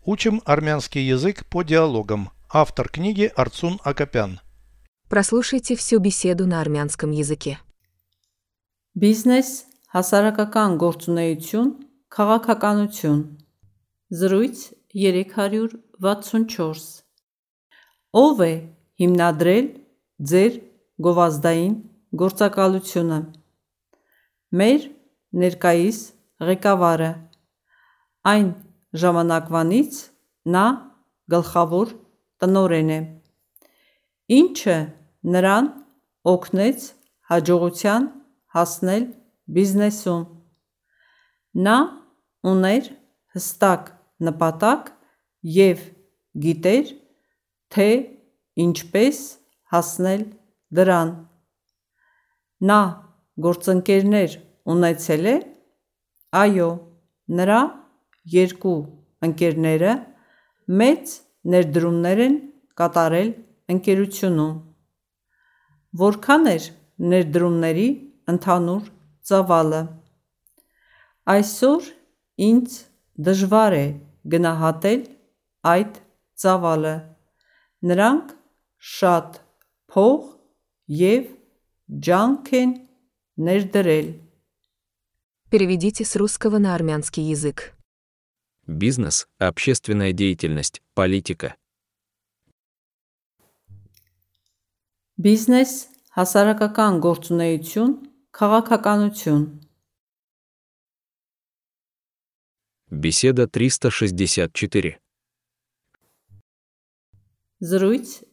Учим армянский язык по диалогам. Автор книги Арцун Акопян. Прослушайте всю беседу на армянском языке. Բիզնես, հասարակական գործունեություն, քաղաքականություն։ Զրույց 364։ Ո՞վ է հիմնադրել ձեր գովազդային գործակալությունը։ Մեր ներկայիս ղեկավարը։ Այն ժամանակվանից նա գլխավոր տնօրեն է։ Ինչը նրան օգնեց հաջողության հասնել բիզնեսում։ Նա ուներ հստակ նպատակ և գիտեր, թե ինչպես հասնել դրան։ Նա գործընկերներ ունեցել է։ Այո, նրա երկու ընկերները մեծ ներդրումներ են կատարել ընկերությունում։ Որքան էր ներդրումների ընդհանուր ծավալը։ Այսօր ինձ դժվար է գնահատել այդ ծավալը։ Նրանք շատ փող և ջանք են ներդրել։ Переведите с русского на армянский язык. Бизнес, общественная деятельность, политика. Բիզնես, հասարակական գործունեություն, քաղաքականություն։ Беседа 364. Զրույց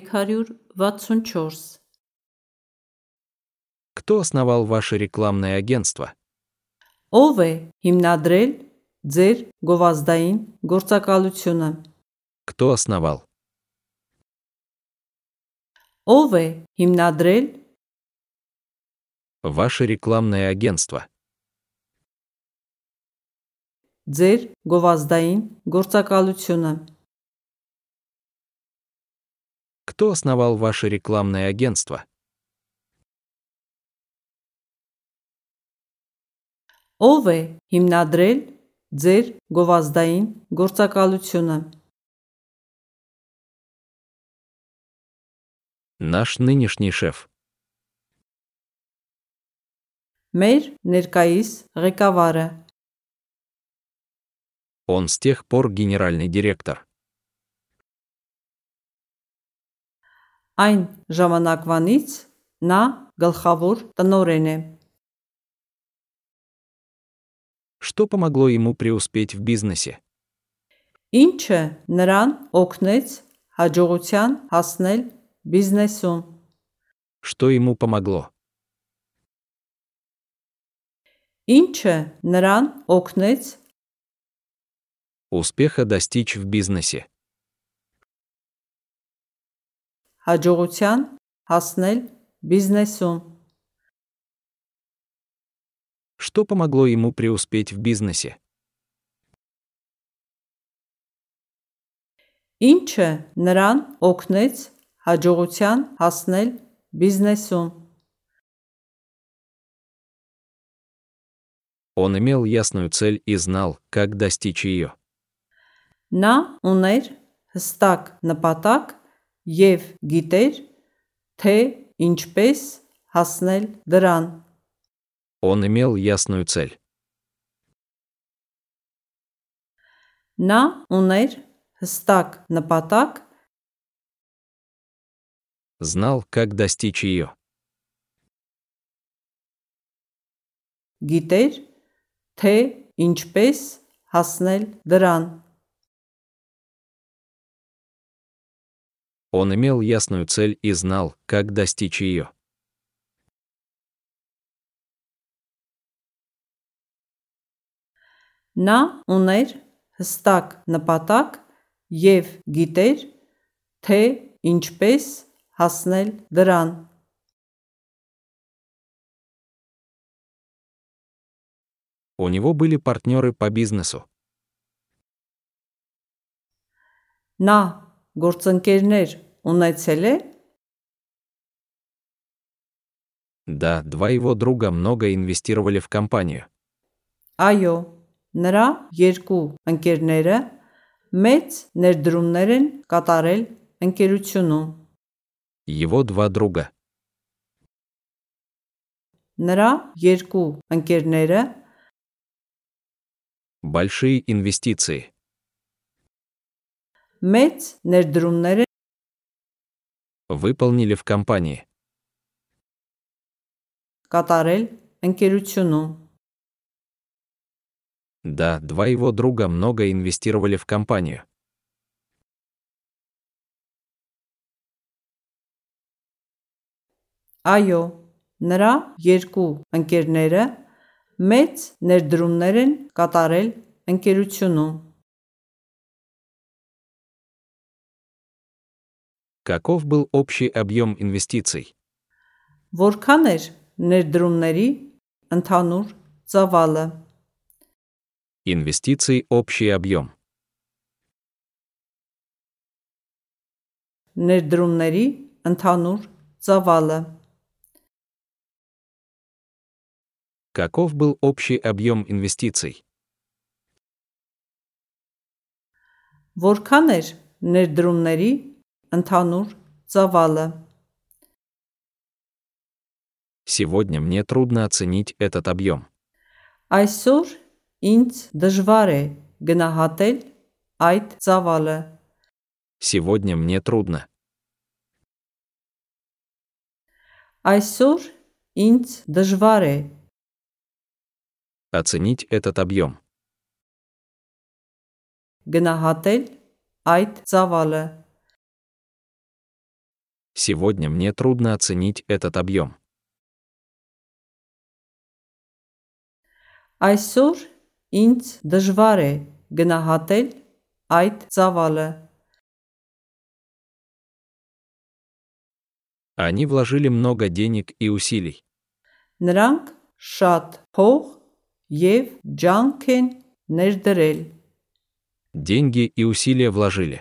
364։ Кто основал ваше рекламное агентство? Ո՞վ է հիմնադրել ձեր գովազդային գործակալությունը։ Кто основал? Ո՞վ է հիմնադրել Ваше рекламное агентство. ձեր գովազդային գործակալությունը։ Кто основал ваше рекламное агентство? Ո՞վ է հիմնադրել ձեր գովազդային գործակալությունը։ Наш нынешний шеф. Մեր ներկայիս ղեկավարը։ Он с тех пор генеральный директор. Այն ժամանակվանից նա գլխավոր տնօրեն է։ Что помогло ему преуспеть в бизнесе? Ինչը նրան օգնեց հաջողության հասնել բիզնեսում։ Что ему помогло? Ինչը նրան օգնեց Успеха достичь в бизнесе. հաջողության հասնել բիզնեսում։ Что помогло ему преуспеть в бизнесе? Ինչը նրան օգնեց հաջողության հասնել բիզնեսում։ Он имел ясную цель и знал, как достичь ее. Նա ուներ հստակ նպատակ և գիտեր, թե ինչպես հասնել դրան։ Он имел ясную цель. Նա ուներ հստակ նպատակ Знал, как достичь ее. գիտեր, թե ինչպես հասնել դրան։ Он имел ясную цель и знал, как достичь ее. Նա ուներ հստակ նպատակ և գիտեր, թե ինչպես հասնել դրան։ У него были партнеры по бизнесу. Նա գործընկերներ ունեցել է։ Да, два его друга много инвестировали в компанию. Այո, նրա երկու ընկերները Մեծ ներդրումներ են կատարել ընկերությունում։ Его два друга. Նրա երկու ընկերները Большие инвестиции. մեծ ներդրումներ են Выполнили в компании. կատարել ընկերությունում։ Да, два его друга много инвестировали в компанию. Այո, նրա երկու ընկերները մեծ ներդրումներ են կատարել ընկերությունում։ Каков был общий объем инвестиций? Որքան էր ներդրումների ընդհանուր ծավալը։ Инвестиций общий объем. Ներդրումների ընդհանուր ծավալը։ Каков был общий объем инвестиций? Որքան էր ներդրումների ընդհանուր ծավալը։ Сегодня мне трудно оценить этот объем. Այսօր ինձ դժվար է գնահատել այդ ծավալը։ Сегодня мне трудно. Այսօր ինձ դժվար է Оценить этот объем. գնահատել այդ ծավալը։ Сегодня мне трудно оценить этот объем. Այսօր ինձ դժվար է գնահատել այդ ծավալը։ Они вложили много денег и усилий. Նրանք շատ փող եւ ջանք են ներդրել։ Деньги и усилия вложили.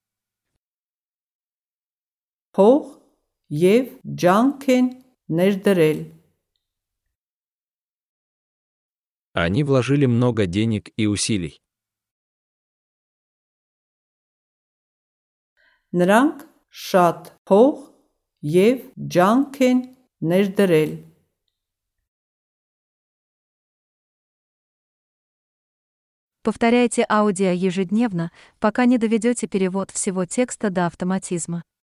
Փող եւ ջանք են ներդրել։ Они вложили много денег и усилий. Նրանք շատ փող եւ ջանք են ներդրել։ Повторяйте аудио ежедневно, пока не доведете перевод всего текста до автоматизма.